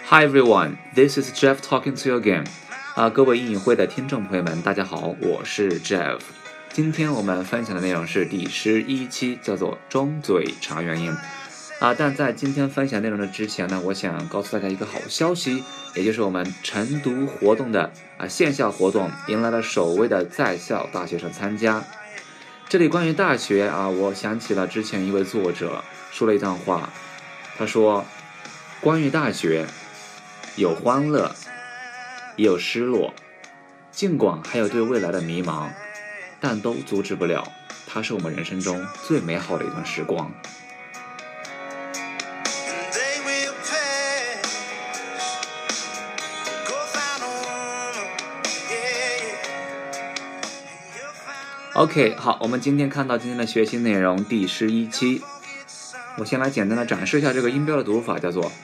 Hi everyone, this is Jeff talking to you again. 各位英语会的听众朋友们，大家好，我是 Jeff。今天我们分享的内容是第11期，叫做中嘴长元音。但在今天分享内容的之前呢，我想告诉大家一个好消息，也就是我们晨读活动的线下活动迎来了首位的在校大学生参加。这里关于大学我想起了之前一位作者说了一段话，他说，关于大学有欢乐，也有失落，尽管还有对未来的迷茫，但都阻止不了它是我们人生中最美好的一段时光。OK， 好，我们今天看到今天的学习内容第11期，我先来简单的展示一下这个音标的读法，叫做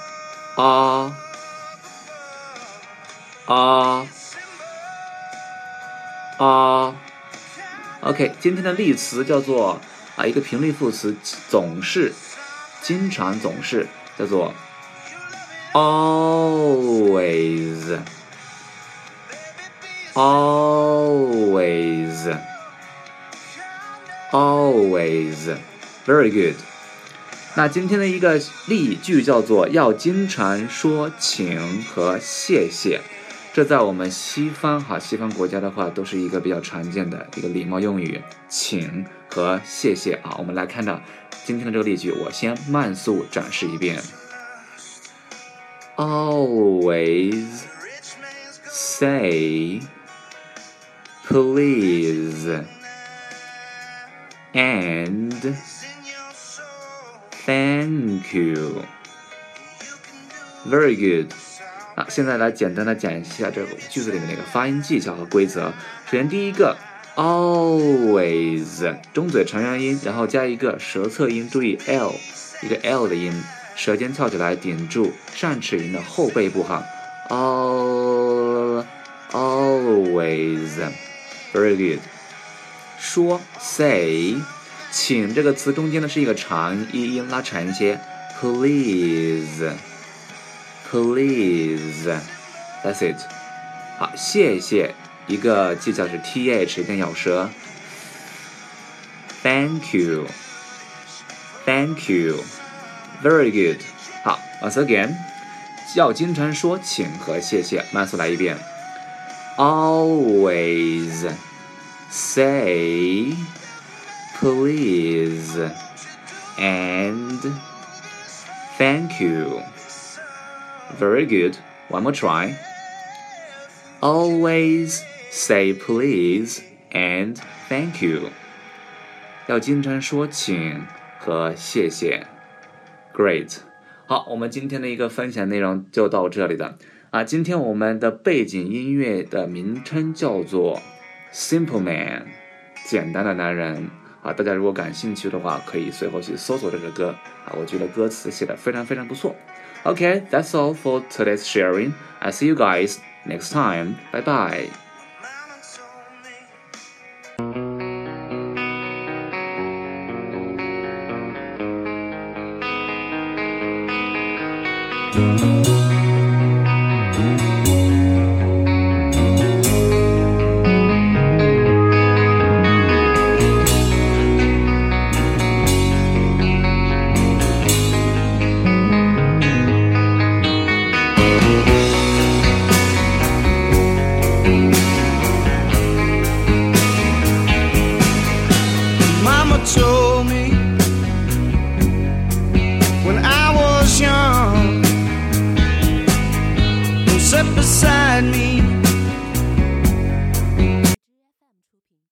OK， 今天的例词叫做一个频率副词，总是，经常，总是，叫做 always very good。 那今天的一个例句叫做要经常说请和谢谢，这在我们西方国家的话都是一个比较常见的一个礼貌用语，请和谢谢我们来看到今天的这个例句，我先慢速展示一遍。 Always say please and thank you. Very good。 现在来简单的讲一下这个句子里面的一个发音技巧和规则。首先第一个 always 中嘴长元音，然后加一个舌侧音，注意 L 一个 L 的音，舌尖翘起来顶住上齿龈的后背部always very good。 说 say 请这个词中间呢是一个长一音，拉长一些 please that's it。 好，谢谢一个技巧是 th 一定咬舌 thank you very good。 好， once again 要经常说请和谢谢，慢速来一遍。 Always say please and thank you. Very good. One more try. Always say please and thank you. 要经常说请和谢谢。 Great。 好，我们今天的一个分享内容就到这里了。今天我们的背景音乐的名称叫做 Simple Man， 简单的男人。大家如果感兴趣的话，可以随后去搜索这首歌我觉得歌词写得非常非常不错。Okay, that's all for today's sharing. I'll see you guys next time. Bye bye. Told me when I was young, and sat beside me